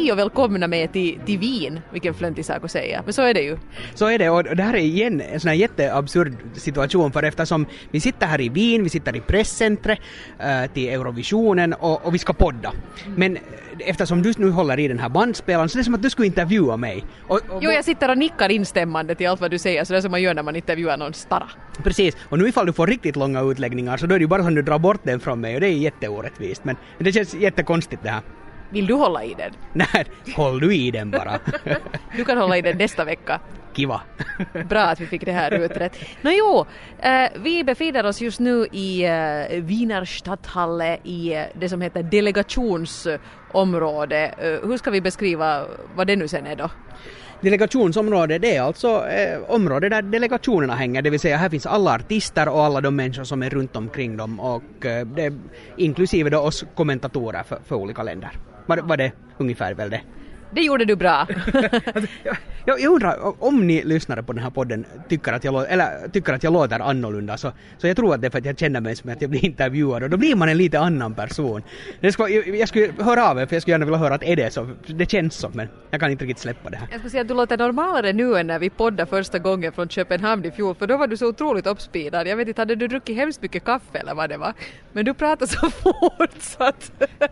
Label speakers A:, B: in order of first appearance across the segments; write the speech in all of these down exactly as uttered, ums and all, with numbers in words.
A: hej och välkomna med till, till Wien, vilken flöntig sak att säga. Men så är det ju.
B: Så är det, och det här är igen en sån här jätteabsurd situation, för eftersom vi sitter här i Wien, vi sitter i presscentret äh, till Eurovisionen och, och vi ska podda. Men eftersom du nu håller i den här bandspelaren så det är som att du skulle intervjua mig. Och, och,
A: jo, jag sitter och nickar instämmande till allt vad du säger, så det är som man gör när man intervjuar någon starra.
B: Precis, och nu ifall du får riktigt långa utläggningar så då är det ju bara som du drar bort den från mig och det är jätteorättvist, men det känns jättekonstigt det här.
A: Vill du hålla i den?
B: Nej, håll du i den bara.
A: Du kan hålla i den nästa vecka.
B: Kiva.
A: Bra att vi fick det här uträtt. Nå jo, eh, vi befinner oss just nu i eh, Wiener Stadthalle i eh, det som heter delegationsområde. Eh, hur ska vi beskriva vad det nu sen är då?
B: Delegationsområde, det är alltså eh, område där delegationerna hänger, det vill säga här finns alla artister och alla de människor som är runt omkring dem och eh, det, inklusive då oss kommentatorer för, för olika länder. Var, var det ungefär väl det?
A: Det gjorde du bra.
B: jag, jag undrar om ni lyssnare på den här podden tycker att jag, eller, tycker att jag låter annorlunda, så, så jag tror att det är för att jag känner mig som att jag blir intervjuad och då blir man en lite annan person. Det ska, jag, jag skulle höra av er, för jag skulle gärna vilja höra att är det så, det känns så, men jag kan inte riktigt släppa det här.
A: Jag skulle säga att du låter normalare nu än när vi poddade första gången från Köpenhamn i fjol, för då var du så otroligt uppspidad. Jag vet inte, hade du druckit hemskt mycket kaffe eller vad det var? Men du pratade så fort så att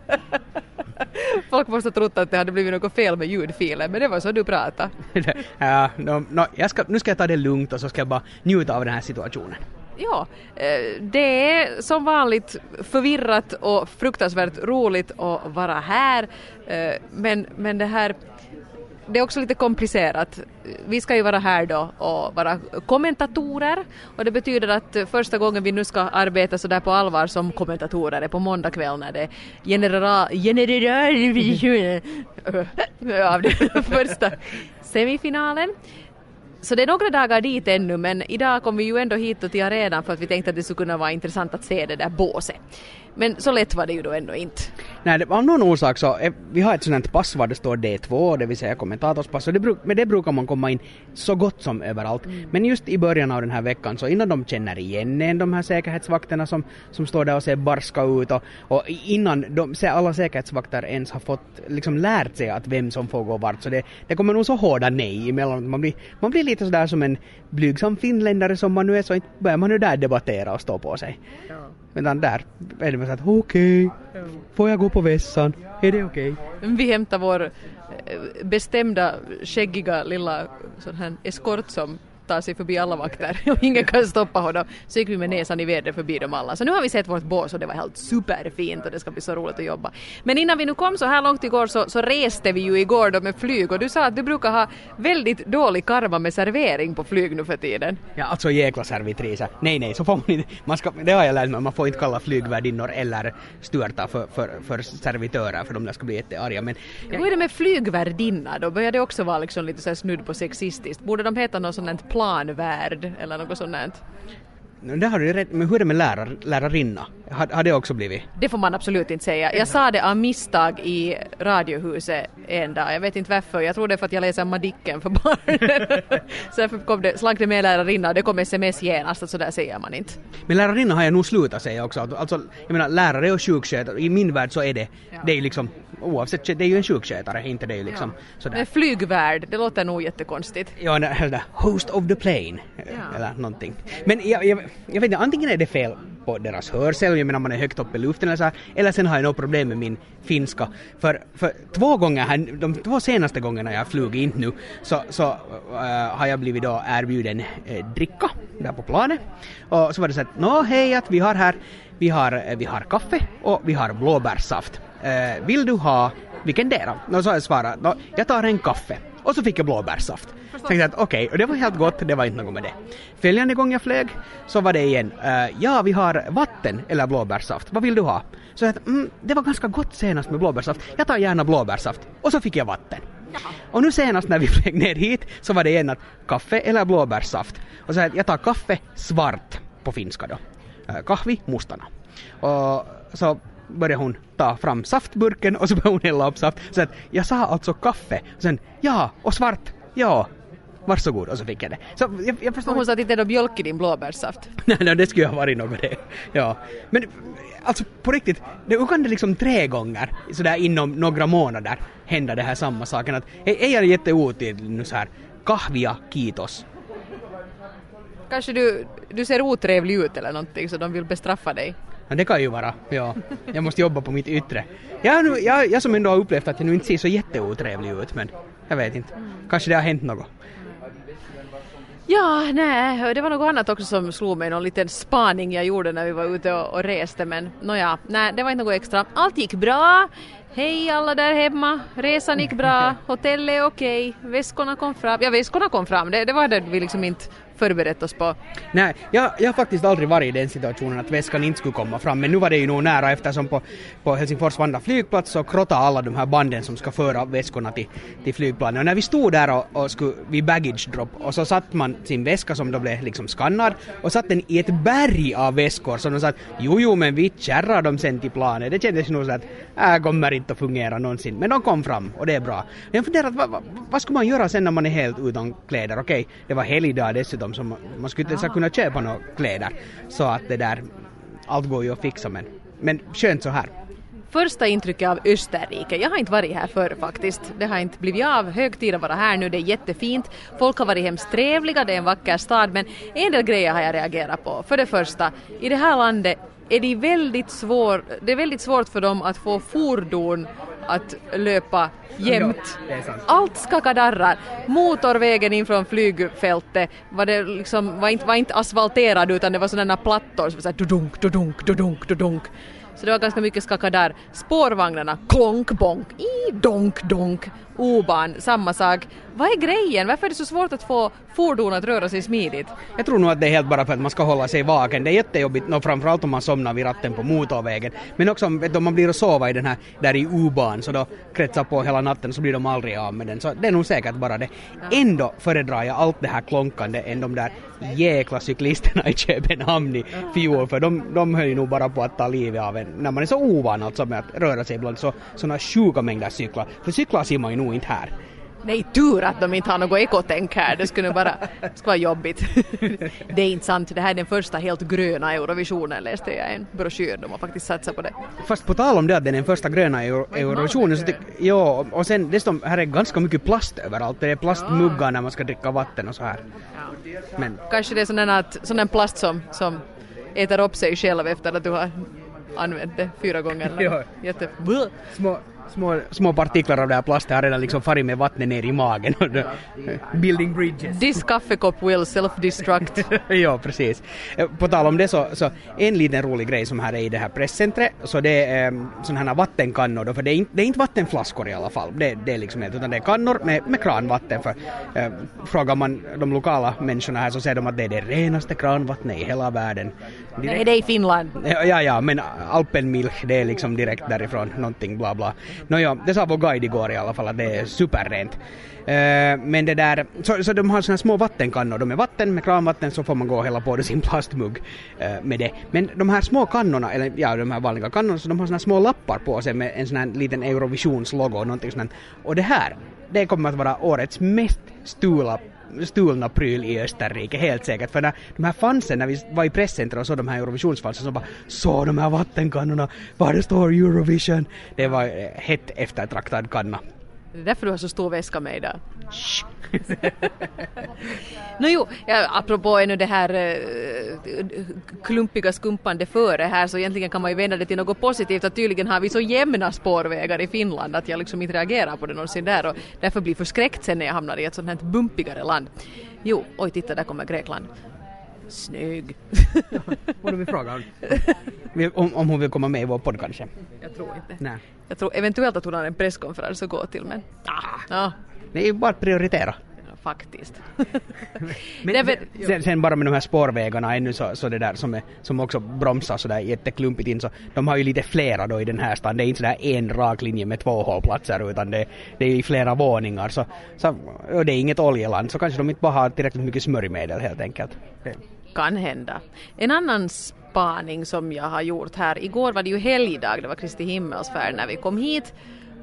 A: folk måste ha trott att det hade blivit något fel med ljudfilen, men det var så du pratade.
B: Ja, no, no, jag ska, nu ska jag ta det lugnt och så ska jag bara njuta av den här situationen.
A: Ja, det är som vanligt förvirrat och fruktansvärt roligt att vara här, men, men det här det är också lite komplicerat. Vi ska ju vara här då och vara kommentatorer, och det betyder att första gången vi nu ska arbeta så där på allvar som kommentatorer är på måndag kväll när det general general av den första semifinalen. Så det är några dagar dit ännu, men idag kom vi ju ändå hit till arenan för att vi tänkte att det skulle kunna vara intressant att se det där båset. Men så lätt var det ju då ändå inte.
B: Nej, det, av någon orsak så, vi har ett sådant pass var det står D två, det vill säga kommentatorspass, och det bruk, med det brukar man komma in så gott som överallt. Mm. Men just i början av den här veckan, så innan de känner igen en, de här säkerhetsvakterna som, som står där och ser barska ut, och, och innan de, alla säkerhetsvakter ens har fått liksom lärt sig att vem som får gå vart, så det, det kommer nog så hårda nej emellan. Man blir, man blir lite sådär som en blygsam finländare som man nu är, så inte börjar man nu där debattera och stå på sig. Ja. Men där är det så att okej, okay, får jag gå på vässan? Är det okej? Okay?
A: Vi hämtar vår bestämda, skäggiga lilla sån här eskort som tar sig förbi alla vakter och ingen kan stoppa honom. Så gick vi med näsan i vädret förbi dem alla. Så nu har vi sett vårt bås och det var helt superfint och det ska bli så roligt att jobba. Men innan vi nu kom så här långt igår så, så reste vi ju igår då med flyg, och du sa att du brukar ha väldigt dålig karma med servering på flyg nu för tiden.
B: Ja, alltså jäkla servitriser. Nej, nej, så får man inte, man ska, det har jag lärt mig, man får inte kalla flygvärdinnor eller störta för, för, för servitörer, för de där ska bli jättearga. Men
A: ja. Hur är det med flygvärdinna? Då börjar det också vara liksom lite så här snudd på sexistiskt. Borde de heta något sånt planvärd eller något sånt?
B: Det har du rätt, men hur är det med lärar, lärarinna? Har, har det också blivit?
A: Det får man absolut inte säga. Jag sa det av misstag i radiohuset en dag. Jag vet inte varför. Jag tror det är för att jag läser Madicken för barnen. Så kom det, slank det med lärarinna och det kom sms genast, så där säger man inte.
B: Men lärarinna har jag nog slutat säga också. Alltså, jag menar, lärare och sjukskötare, i min värld så är det, ja. Det är liksom, oavsett, det är ju en sjukskötare, inte det är liksom ja. Sådär.
A: Men flygvärd, det låter nog jättekonstigt.
B: Ja, eller host of the plane, ja. Eller någonting. Men jag, jag, jag vet inte, antingen är det fel på deras hörsel, jag menar man är högt upp i luften eller så här, eller sen har jag något problem med min finska. För, för två gånger här, de två senaste gångerna jag flugit in nu, så, så uh, har jag blivit då erbjuden uh, dricka där på planet. Och så var det så att, nå hej, att vi har här, vi har, uh, vi har kaffe och vi har blåbärssaft. Uh, vill du ha, vilken del då? Och så har jag svarat, nå, jag tar en kaffe. Och så fick jag blåbärssaft. Tänkte att okej, okay, och det var helt gott, det var inte något med det. Följande gång jag flög så var det igen, uh, ja vi har vatten eller blåbärssaft, vad vill du ha? Så att, mm, det var ganska gott senast med blåbärssaft, jag tar gärna blåbärssaft. Och så fick jag vatten. Jaha. Och nu senast när vi flög ner hit så var det igen att kaffe eller blåbärssaft. Och så att jag tar kaffe svart på finska då. Uh, kahvi mustana. Och så började hon ta fram saftburken och så började hon hälla upp saft. Så att jag sa alltså kaffe. Och sen, ja, och svart, ja. varsågod, och så fick jag det. Så jag, jag förstår...
A: Och hon sa att inte är det mjölk i din blåbärssaft.
B: nej, nej, det skulle ha varit något det. Ja. Men alltså på riktigt, det kan det liksom tre gånger sådär inom några månader hända det här samma saken. Att är jag jätteotydlig nu så här, kahvia, kiitos.
A: Kanske du, du ser otrevlig ut eller någonting så de vill bestraffa dig.
B: Ja, det kan ju vara, ja. Jag måste jobba på mitt yttre. Jag, nu, jag, jag som ändå har upplevt att jag nu inte ser så jätteotrevlig ut, men jag vet inte. Kanske det har hänt något.
A: Ja, nej, det var något annat också som slog mig, någon liten spaning jag gjorde när vi var ute och, och reste, men nåja, nej, det var inte något extra. Allt gick bra. Hej alla där hemma, resan gick bra, hotellet är okej, väskorna kom fram. Ja, väskorna kom fram, det, det var det vi liksom inte förberett oss på.
B: Nej, jag, jag har faktiskt aldrig varit i den situationen att väskan inte skulle komma fram, men nu var det ju nog nära eftersom på, på Helsingfors Vanda flygplats så krottade alla de här banden som ska föra väskorna till, till flygplanet. Och när vi stod där och, och skulle vid baggage drop och så satt man sin väska som då blev liksom skannad och satt den i ett berg av väskor som de sa att jo, jo, men vi kärrar dem sen till planet. Det kändes nog så att äh, kommer inte att fungera någonsin, men de kom fram och det är bra. Jag funderar att vad, vad, vad ska man göra sen när man är helt utan kläder? Okej, det var helgdag dessutom. Som man skulle inte ens kunna köpa några kläder så att det där allt går ju att fixa, men, men skönt så här.
A: Första intrycket av Österrike, jag har inte varit här förr faktiskt, det har inte blivit av, högtiden vara här nu, det är jättefint, folk har varit hemskt trevliga, det är en vacker stad, men en del grejer har jag reagerat på. För det första, i det här landet är det väldigt svår, det är väldigt svårt för dem att få fordon att löpa jämt.
B: Ja,
A: allt skakadarrar. Motorvägen in från flygfältet var, det liksom, var, inte, var inte asfalterad utan det var sådana plattor som var såhär dudunk, dudunk, dudunk, dudunk. Så det var ganska mycket skakadar. Spårvagnarna, klonk, bonk, i, donk, donk. O-ban, samma sak. Vad är grejen? Varför är det så svårt att få fordon att röra sig smidigt?
B: Jag tror nog att det är helt bara för att man ska hålla sig vaken. Det är jättejobbigt, no, framförallt om man somnar vid ratten på motorvägen. Men också om, vet du, om man blir att sova i den här, där i U-ban så då kretsar på hela natten så blir de aldrig av med den. Så det är nog säkert bara det. Ändå föredrar jag allt det här klonkande än de där jäkla cyklisterna i Köpenhamn i fjol. För de, de höll ju nog bara på att ta livet av en. När man är så ovan alltså med att röra sig bland så, såna sjuka mängder cyklar. För cyklar ser man ju nog inte här.
A: Nej, tur att de inte har något ekotänk här. Det skulle bara det skulle vara jobbigt. Det är inte sant. Det här är den första helt gröna Eurovisionen, läste jag i en broschyr. De har faktiskt satsat på det.
B: Fast på tal om det att det är den första gröna Euro- Eurovisionen så tyck, ja, och sen dessutom här är ganska mycket plast överallt. Det är plastmuggar när man ska dricka vatten och så här.
A: Ja.
B: Men
A: kanske det är sån att, sån en plast som, som äter upp sig själv efter att du har använt det fyra gånger.
B: Ja.
A: Jätte...
B: Små, små, små partiklar av det här plastet har redan liksom farit med vattnet ner i magen. Building bridges.
A: This kaffekopp will self-destruct.
B: Ja, precis. På tal om det så, så en liten rolig grej som här är i det här presscentret, så det är um, sådana här vattenkannor då, för det är, inte, det är inte vattenflaskor i alla fall. Det, det är liksom helt, utan det är kannor med, med kranvatten. För uh, frågar man de lokala människorna här så säger de att det är det renaste kranvattnet i hela världen.
A: Direkt. Nej, det är i Finland.
B: Ja, ja, ja, men Alpenmilch, det är liksom direkt därifrån, någonting bla bla. Nåja, det sa vår guide igår i alla fall att det är superrent. Uh, men det där, så, så de har såna små vattenkannor, de är vatten med kranvatten så får man gå och hälla på det sin plastmugg uh, med det. Men de här små kannorna, eller ja, de här vanliga kannorna, så de har såna små lappar på sig med en sån här liten Eurovisionslogo och någonting sånt. Och det här, det kommer att vara årets mest stula stulna pryl i Österrike, helt säkert. För när de här fansen, när vi var i presscentret och så de här Eurovisionsfansen så bara, så de här vattenkannorna, var det står Eurovision. Det var eh, hett eftertraktad kanna.
A: Det är därför du har så stor väska med idag. Nå jo, ja, apropå ännu det här uh, klumpiga skumpande före här, så egentligen kan man ju vända det till något positivt, att tydligen har vi så jämna spårvägar i Finland att jag liksom inte reagerar på det någonsin där och därför blir förskräckt sen när jag hamnar i ett sånt här bumpigare land. Jo, oj titta, där kommer Grekland. Snygg.
B: Vad vill fråga om, om hon vill komma med i vår podd kanske?
A: Jag tror inte.
B: Nej.
A: Jag tror eventuellt att hon har en presskonferens att gå till, men ah, ja.
B: Det är ju bara att prioritera.
A: Ja, faktiskt.
B: Men
A: det,
B: sen, sen bara med de här spårvägarna ännu så, så det där som, är, som också bromsar så där jätteklumpigt in, så de har ju lite flera då i den här stan. Det är inte så där en rak linje med två hållplatser utan det, det är i flera våningar, så, så och det är inget oljeland, så kanske de inte bara har tillräckligt mycket smörjmedel helt enkelt. Det
A: kan hända. En annan spaning som jag har gjort här, igår var det ju helgdag, det var Kristi himmelsfärd när vi kom hit.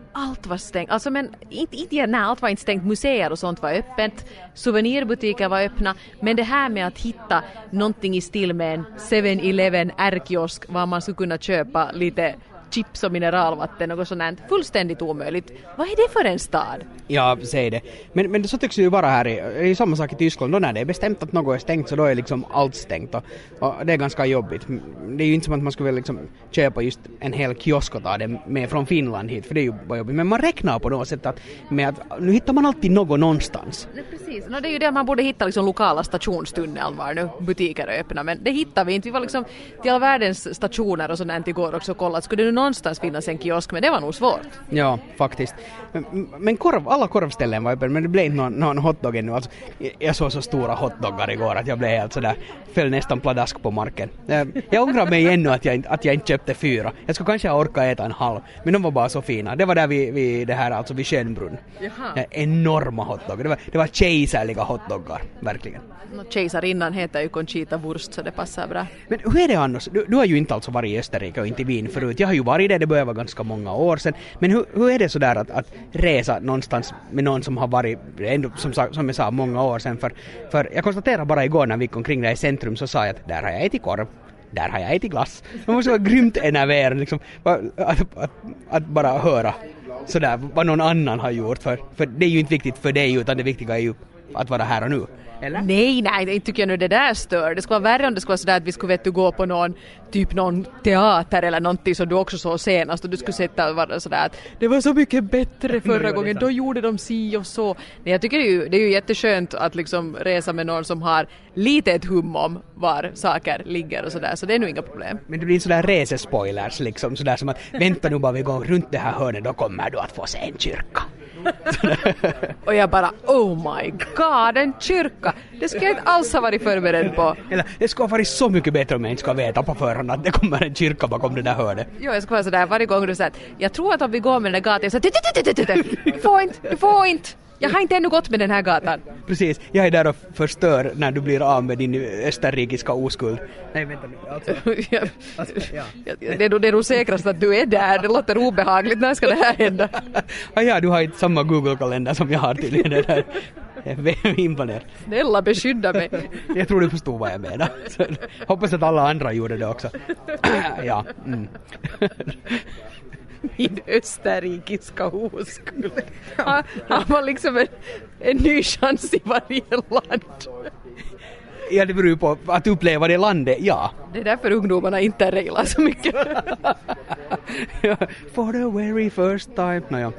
A: allt var stängt. Alltså men inte, inte när allt var inte stängt. Museer och sånt var öppet. Souvenirbutiker var öppna. Men det här med att hitta någonting i stil med en seven eleven R-kiosk var man skulle kunna köpa lite chips och mineralvatten, något sånt, fullständigt omöjligt. Vad är det för en stad?
B: Ja, säg det. Men, men så tycks det ju vara här i, det är ju samma sak i Tyskland. Då när det är bestämt att något är stängt så då är liksom allt stängt. Och, och det är ganska jobbigt. Det är ju inte som att man skulle liksom köpa just en hel kiosk och ta det med från Finland hit, för det är ju bara jobbigt. Men man räknar på något sätt att, med att nu hittar man alltid något någonstans.
A: Nej, precis. No, det är ju det att man borde hitta liksom lokala stationstunneln var nu butiker är öppna. Men det hittar vi inte. Vi var liksom till alla världens stationer och sådant igår också kollat. Skulle det någonstans finnas en kiosk, men det var nog svårt.
B: Ja, faktiskt. Men, men korv, alla korvställen var öppen, men det blev inte någon, någon hotdog ännu. Alltså, jag såg så stora hotdoggar igår att jag blev helt sådär, föll nästan pladask på marken. Jag, jag ångrar mig ännu att jag, att jag inte köpte fyra. Jag skulle kanske orka äta en halv, men de var bara så fina. Det var där vid, vid det här, alltså vid Schönbrunn. Jaha. Enorma hotdoggar. Det var, det var kejsarliga hotdoggar, verkligen.
A: No, kejsarinnan heter ju Conchita Wurst, så det passar bra.
B: Men hur är det annars? Du, du har ju inte alltså varit i Österrike och inte i Wien förut. Jag har ju varit där, det börjar vara ganska många år sedan. Men hur, hur är det sådär att, att resa någonstans med någon som har varit, ändå, som, som jag sa, många år sedan? För, för jag konstaterar bara igår när vi gick omkring där i centrum så sa jag att där har jag ätit korv. Där har jag ätit glass. Man måste vara grymt enerverad liksom, att, att, att, att bara höra sådär vad någon annan har gjort. För, för det är ju inte viktigt för dig, utan det viktiga är ju att vara här och nu. Eller? Nej,
A: nej, det tycker jag nu det där stör. Det skulle vara värre om det skulle vara sådär att vi skulle vet du, gå på någon typ någon teater eller någonting som du också såg senast och du skulle sätta och vara sådär att det var så mycket bättre förra gången, då gjorde de si och så. Nej, jag tycker det är ju, det är ju jätteskönt att liksom resa med någon som har lite ett hum om var saker ligger och sådär, så det är nog inga problem.
B: Men det blir sådär resespoilers liksom, sådär som att vänta nu bara vi går runt det här hörnet, då kommer du att få se en kyrka.
A: Och jag bara, oh my god, en kyrka. Det ska jag inte alls ha varit förberedd på.
B: Eller, det ska vara så mycket bättre om jag inte ska veta på förhand att det kommer en kyrka bakom det där hörnet.
A: Jo, jag ska vara sådär varje gång du säger att jag tror att om vi går med den där gatan, så du får inte, du får inte. Jag har inte ännu gått med den här gatan.
B: Precis, jag är där och förstör när du blir av med din österrikiska oskuld. Nej, vänta nu. Alltså,
A: ja. Alltså, ja. Det, är nog, det är nog säkrast att du är där. Det låter obehagligt. När ska det här hända?
B: Ah, ja, du har inte samma Google-kalender som jag har tydligen. Det där. Jag är imponerad.
A: Snälla, beskydda mig.
B: Jag tror du förstod vad jag menar. Så, hoppas att alla andra gjorde det också. Ja. Mm.
A: Min österrikiska oskuld. Han, han var liksom en, en ny chans i varje land.
B: Ja, det beror ju på att uppleva det landet, ja.
A: Det är därför ungdomarna inte reglar så mycket.
B: Ja, for the very first time. Naja.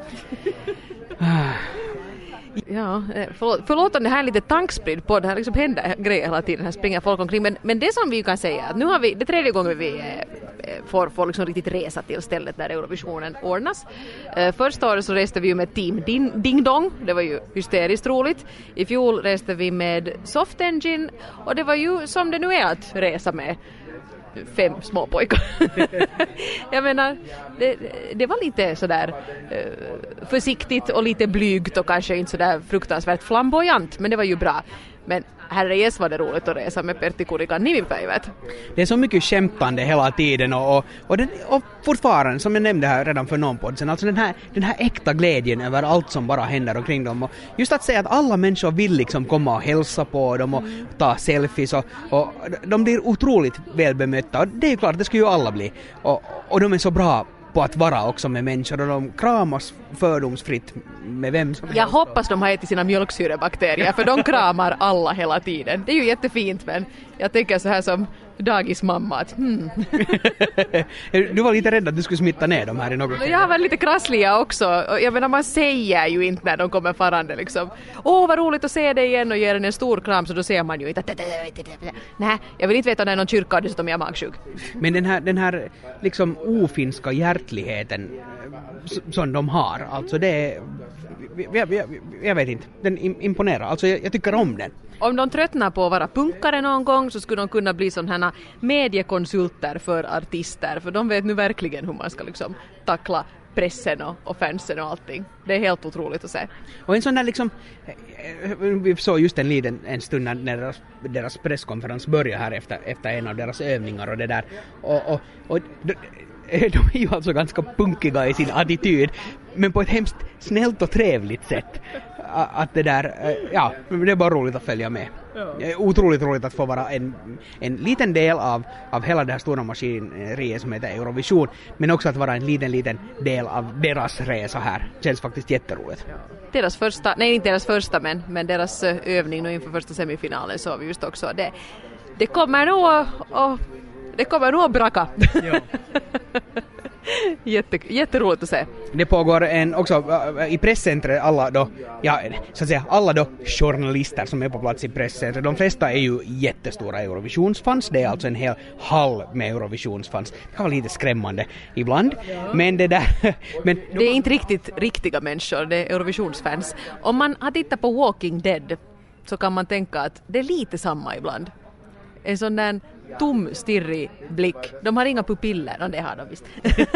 A: Ja, förlåt, förlåt om det här är lite tankspridd på det här liksom händer grejer hela tiden, här springer folk omkring, men, men det som vi kan säga att nu har vi, det tredje gången vi eh, får, får liksom riktigt resa till stället där Eurovisionen ordnas. Eh, första året så reste vi ju med Team Ding, Ding Dong, det var ju hysteriskt roligt. I fjol reste vi med Soft Engine och det var ju som det nu är att resa med fem små pojkar. Jag menar, det, det var lite sådär eh, försiktigt och lite blygt och kanske inte sådär fruktansvärt flamboyant, men det var ju bra. Men herrejes var det roligt att resa med Pertti Kurikan nimipäivät.
B: Det är så mycket skämtande hela tiden och, och, och, den, och fortfarande, som jag nämnde här redan för någon podd sen, alltså den här, den här äkta glädjen över allt som bara händer omkring dem. Och just att säga att alla människor vill liksom komma och hälsa på dem och ta selfies och, och de blir otroligt välbemötta och det är klart, det ska ju alla bli. Och, och de är så bra på att vara också med människor och de kramas fördomsfritt med vem som helst.
A: Jag hoppas de har ätit sina mjölksyrebakterier för de kramar alla hela tiden. Det är ju jättefint, men jag tänker så här som dagismamma att hmm.
B: Du var lite rädd att du skulle smitta ner dem här i något.
A: Jag var lite krassliga också. Jag menar, man säger ju inte när de kommer farande liksom. Åh, vad roligt att se dig igen och ge den en stor kram, så då ser man ju inte. Nej, jag vill inte veta när någon kyrka har dessutom jag är magsjuk.
B: Men den här, den här liksom ofinska hjärtligheten som de har, alltså det är, jag, jag, jag vet inte, den imponerar, alltså jag, jag tycker om den.
A: Om de tröttnar på att vara punkare någon gång så skulle de kunna bli sådana här mediekonsulter för artister, för de vet nu verkligen hur man ska liksom tackla pressen och, och fansen och allting. Det är helt otroligt att se.
B: Och en sån där liksom, vi såg just en liten en stund när deras, deras presskonferens började här efter, efter en av deras övningar och det där, och, och, och de, de är ju alltså ganska punkiga i sin attityd, men på ett hemskt snällt och trevligt sätt. Att det där, ja, det är bara roligt att följa med. Ja. Otroligt roligt att få vara en, en liten del av, av hela det här stora maskineriet som heter Eurovision, men också att vara en liten, liten del av deras resa här. Känns faktiskt jätteroligt. Ja.
A: Deras första, nej inte deras första, men, men deras övning nu inför första semifinalen så vi just också. Det, det kommer nog och, det kommer nog att braka. Ja. Jätte, jätteroligt att se.
B: Det pågår en också i presscentret, alla då, ja, så att säga, alla då journalister som är på plats i presscentret. De flesta är ju jättestora Eurovisionsfans. Det är alltså en hel hall med Eurovisionsfans. Det kan vara lite skrämmande ibland. Ja. Men det där... men
A: det är inte riktigt riktiga människor, det är Eurovisionsfans. Om man har tittat på Walking Dead så kan man tänka att det är lite samma ibland. En sån där tom, stirrig blick. De har inga pupiller, och det har de visst.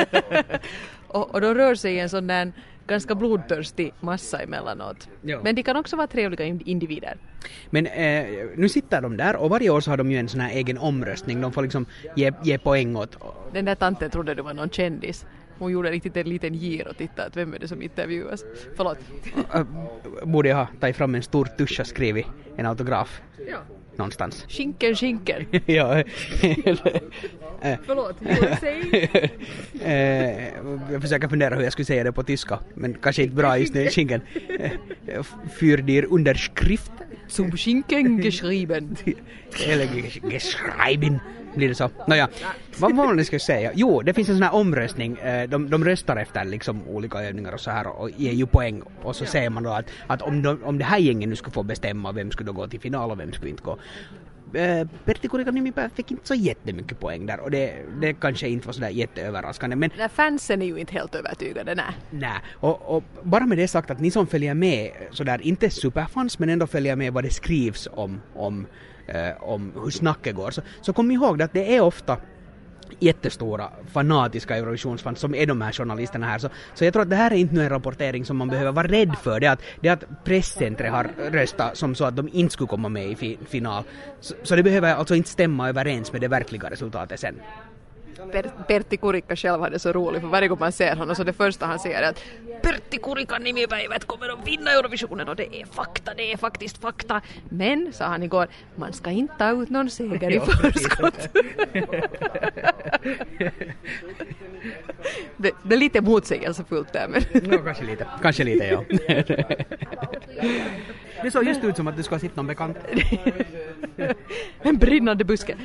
A: och, och de rör sig i en sån där ganska blodtörstig massa emellanåt. Jo. Men de kan också vara trevliga individer.
B: Men eh, nu sitter de där och varje år så har de ju en sån här egen omröstning. De får liksom ge, ge poäng åt...
A: Den där tanten trodde det var någon kändis. Hon gjorde riktigt en liten gir och tittade att vem är det som intervjuas. Förlåt.
B: Borde jag ha tagit fram en stor tusch och skrivit en autograf?
A: Ja.
B: Någonstans.
A: Skinken, skinken.
B: ja.
A: Förlåt, you say?
B: Jag försöker fundera hur jag skulle säga det på tyska, men kanske inte bra just nu. Skinken. Für dir Unterschrift.
A: Zum Schinken geschrieben.
B: Eller geschrieben. Blir det så? Nåja, vad var det jag skulle säga? Jo, det finns en sån här omröstning. De, de röstar efter liksom olika övningar och så här och ger ju poäng. Och så ja. Säger man då att, att om, de, om det här gängen nu skulle få bestämma vem skulle då gå till final och vem skulle inte gå. Pertti Kurikaniemi fick inte så jättemycket poäng där och det, det kanske inte var så där jätteöverraskande. Men
A: nej, fansen är ju inte helt övertygade, nej.
B: Nej, och, och bara med det sagt att ni som följer med sådär, inte superfans men ändå följer med vad det skrivs om, om Eh, om hur snacket går, så, så kom ihåg att det är ofta jättestora fanatiska Eurovisionsfans som är de här journalisterna här. Så, så jag tror att det här är inte en rapportering som man behöver vara rädd för. Det är att, det är att presscentret har röstat som så att de inte skulle komma med i fi, final. Så, så det behöver alltså inte stämma överens med det verkliga resultatet sen.
A: Pertti Kurikka själv hade så roligt för varje gång man ser honom så det första han säger är att Pertti Kurikaniemi-päivät kommer att vinna Eurovisionen och det är fakta, det är faktiskt fakta. Men, sa han igår, man ska inte ta ut någon seger i förskott. det, det är lite motsägelsefullt där. Men
B: no, kanske lite, kanske lite, ja. Det såg just ut som att du ska sitta någon bekant.
A: En brinnande buske.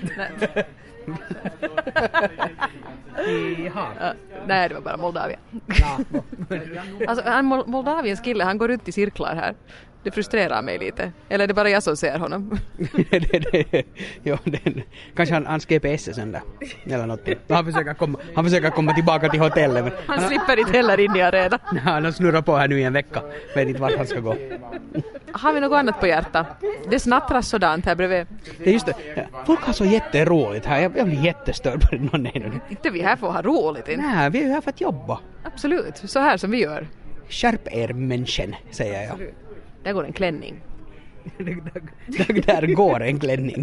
B: Jaha.
A: Uh, nej, det var bara Moldavien. Alltså, han, Moldaviens kille, han går runt i cirklar här. Det frustrerar mig lite. Eller är det bara jag som ser honom?
B: det, det, jo, det, kanske han, hans G P S är sönder. Eller något. Han försöker komma, han försöker komma tillbaka till hotellet. Men
A: han, han slipper inte heller in i arenan.
B: Han har snurrat på här nu i en vecka. Vet inte vart han ska gå.
A: Har vi något annat på hjärta? Det snattras sådant här bredvid.
B: Det är just det. Folk har så jätteroligt här. Jag, jag blir jättestörd på det. Någon är
A: inte vi här får ha roligt. Inte.
B: Nej, vi är ju här för att jobba.
A: Absolut. Så här som vi gör.
B: Skärp er människan, säger jag.
A: Absolut. Där går en klänning.
B: där, där går en klänning.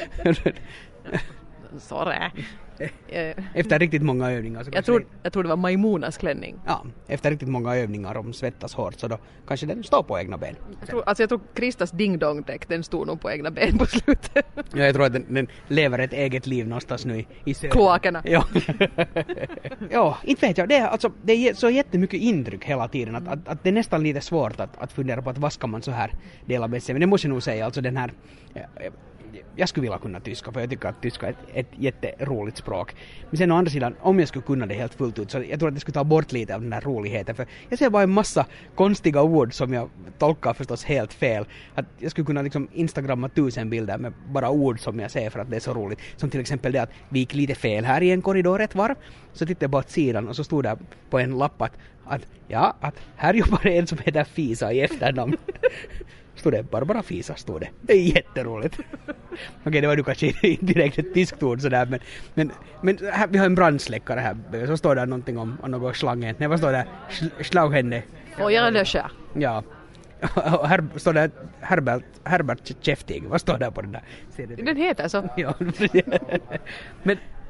A: Sorry.
B: Efter riktigt många övningar. Så
A: jag, tror, jag tror det var Maimonas klänning.
B: Ja, efter riktigt många övningar om svettas hårt så då kanske den står på egna ben.
A: Jag tror, alltså jag tror Kristas ding-dong-däck, den stod nog på egna ben på slutet.
B: Ja, jag tror att den, den lever ett eget liv någonstans nu i, i söder.
A: Kloakerna.
B: Ja. ja, inte vet jag. Det är, alltså, det är så jättemycket intryck hela tiden att, att, att det är nästan lite svårt att, att fundera på att vad ska man så här dela med sig. Men det måste jag nog säga, alltså den här... Jag skulle vilja kunna tyska för jag tycker att tyska är ett, ett jätteroligt språk. Men sen å andra sidan, om jag skulle kunna det helt fullt ut så jag tror att det skulle ta bort lite av den här roligheten. För jag ser bara en massa konstiga ord som jag tolkar förstås helt fel. Att jag skulle kunna liksom instagramma tusen bilder med bara ord som jag ser för att det är så roligt. Som till exempel det att vi gick lite fel här i en korridor ett varv. Så tittade jag bara åt sidan och så stod det på en lapp att, att ja, att här jobbar en som heter Fisa i efternamn. Stod det, Barbara Fisa stod det. Det är jätteroligt. Okej, det var ju kanske inte direkt ett tyskt ord sådär, men, men, men här, vi har en brandsläckare här. Så står det någonting om, om något slangen. Nej, vad står det? Schlaughände.
A: Och jag löscher.
B: Ja. Och här står det Herbert, Herbert Käftig. Vad står det på den där?
A: Den heter så.
B: Ja. Men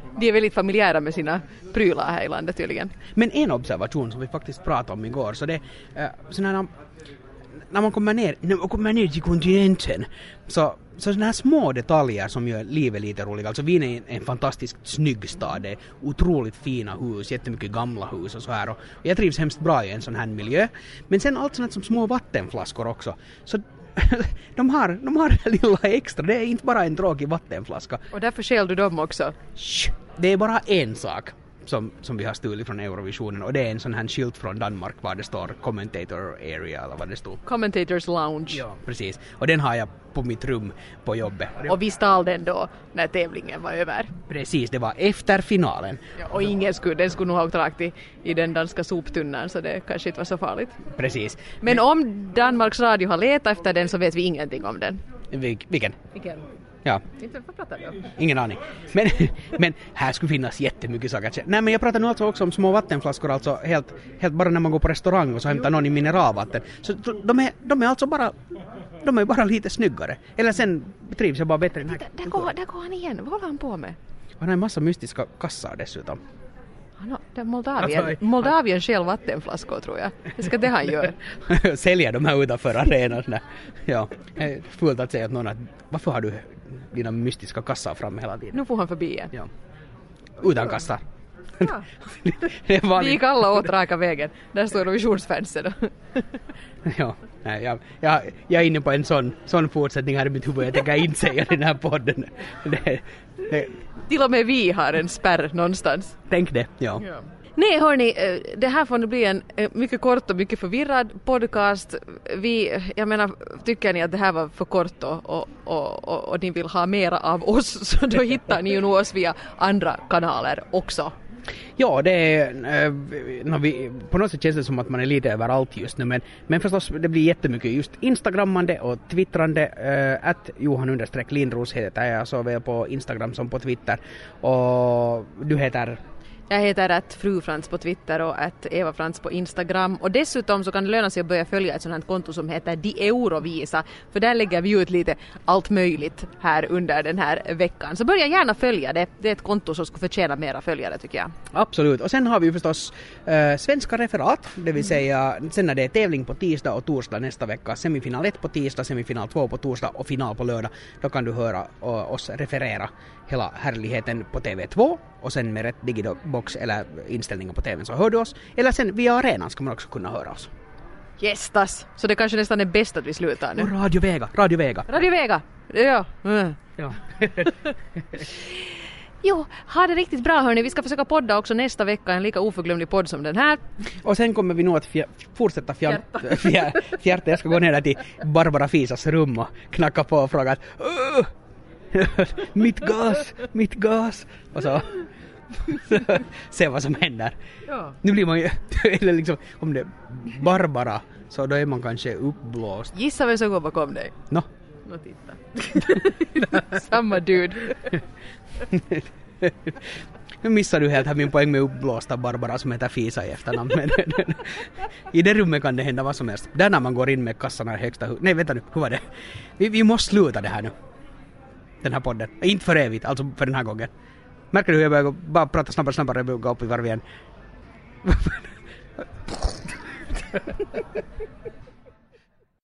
A: de är väldigt familjära med sina prylar här i landet tydligen.
B: Men en observation som vi faktiskt pratade om igår, så det är uh, sådana när man kommer ner, när man kommer ner till kontinenten, så så sådana här små detaljer som gör livet lite roligt. Alltså Wien är en, en fantastiskt snygg stad. Det är otroligt fina hus, jättemycket gamla hus och så här. Och jag trivs hemskt bra i en sån här miljö. Men sen allt sånt som små vattenflaskor också. Så de har, de har det lilla extra. Det är inte bara en tråkig vattenflaska.
A: Och därför skäl du dem också?
B: Shh, det är bara en sak som, som vi har stulit från Eurovisionen. Och det är en sån här skylt från Danmark var det står Commentator Area eller vad det står.
A: Commentators Lounge.
B: Ja, precis. Och den har jag på mitt rum på jobbet.
A: Och vi stal den då när tävlingen var över.
B: Precis, det var efter finalen.
A: Ja, och ingen skulle, den skulle nog ha åkt rakt i, i den danska soptunnan, så det kanske inte var så farligt.
B: Precis.
A: Men om Danmarks Radio har letat efter den så vet vi ingenting om den.
B: Vil- vilken?
A: Vilken?
B: Ja.
A: Inte vad pratar du om?
B: Ingen aning. Men, men här skulle finnas jättemycket saker. Nej, men jag pratar nu alltså också om små vattenflaskor, alltså helt, helt bara när man går på restaurang och så hämtar någon i mineralvatten. Så de är, de är alltså bara, de är bara lite snyggare. Eller sen trivs jag bara bättre i den här.
A: Där, där, går, där går han igen. Vad håller han på med?
B: Han har en massa mystiska kassar dessutom.
A: Han, det är Moldavien.
B: Alltså,
A: Moldavien själv vattenflaskor tror jag. Det ska det han gör.
B: Säljer de här utanför arenan. Ja, fullt att säga att någon att varför har du dina mystiska kassar framme hela tiden?
A: Nu får han förbi igen.
B: Ja. Utan kassar.
A: Ja.
B: Det var
A: Vi gick alla åt raka vägen. Där står Eurovisionsfansen.
B: Ja, nej, jag, jag, jag är inne på en sån, sån fortsättning här i mitt huvud. Jag tänker inte säga den här podden. Det, det.
A: Till och med vi har en spärr någonstans.
B: Tänk det, ja.
A: Ja. Nej hörni, det här får nu bli en mycket kort och mycket förvirrad podcast. Vi, jag menar, tycker ni att det här var för kort och, och, och, och, och ni vill ha mera av oss, så då hittar ni ju nog oss via andra kanaler också.
B: Ja, det är, äh, no, vi, på något sätt känns det som att man är lite överallt just nu, men, men förstås det blir jättemycket just instagrammande och twittrande. Äh, att Johan understreck Lindros heter jag såväl på Instagram som på Twitter, och du heter...
A: Jag heter att Fru Frans på Twitter och att Eva Frans på Instagram. Och dessutom så kan det löna sig att börja följa ett sådant här konto som heter Di Eurovisa. För där lägger vi ut lite allt möjligt här under den här veckan. Så börja gärna följa det. Det är ett konto som ska förtjäna mera följare tycker jag.
B: Absolut. Och sen har vi ju förstås äh, svenska referat. Det vill säga sen när det är tävling på tisdag och torsdag nästa vecka. Semifinal ett på tisdag, semifinal två på torsdag och final på lördag. Då kan du höra och, oss referera hela härligheten på T V två. Och sen med rätt digibox eller inställningar på tvn så hör du oss. Eller sen via arenan ska man också kunna höra oss.
A: Gästas! Så det kanske nästan är bäst att vi slutar nu.
B: Och Radio Vega, Radio Vega.
A: Radio Vega, ja. Mm.
B: Ja.
A: Jo, ha det riktigt bra hörni. Vi ska försöka podda också nästa vecka. En lika oförglömlig podd som den här.
B: Och sen kommer vi nog att fjär, fortsätta fjärta. Fjär, fjärta. Jag ska gå ner där till Barbara Fisas rum och knacka på och fråga att mitt gas, mitt gas. Och så se vad som händer.
A: Ja.
B: Nu blir man ju, eller liksom, om det är Barbara så då är man kanske uppblåst.
A: Gissa vem som går bakom dig.
B: No.
A: Nå titta. Samma dude.
B: Nu missar du helt här min poäng med uppblåsta Barbara som heter Fisa i efternamn. Men i det rummet kan det hända vad som helst. Där när man går in med kassarna i högsta hu- Nej, vänta nu, hur var det? Vi, vi måste sluta det här nu. Den här podden. Inte för evigt, alltså för den här gången. Märker du hur jag börjar gå, bara prata snabbare, snabbare och gå upp i varv igen?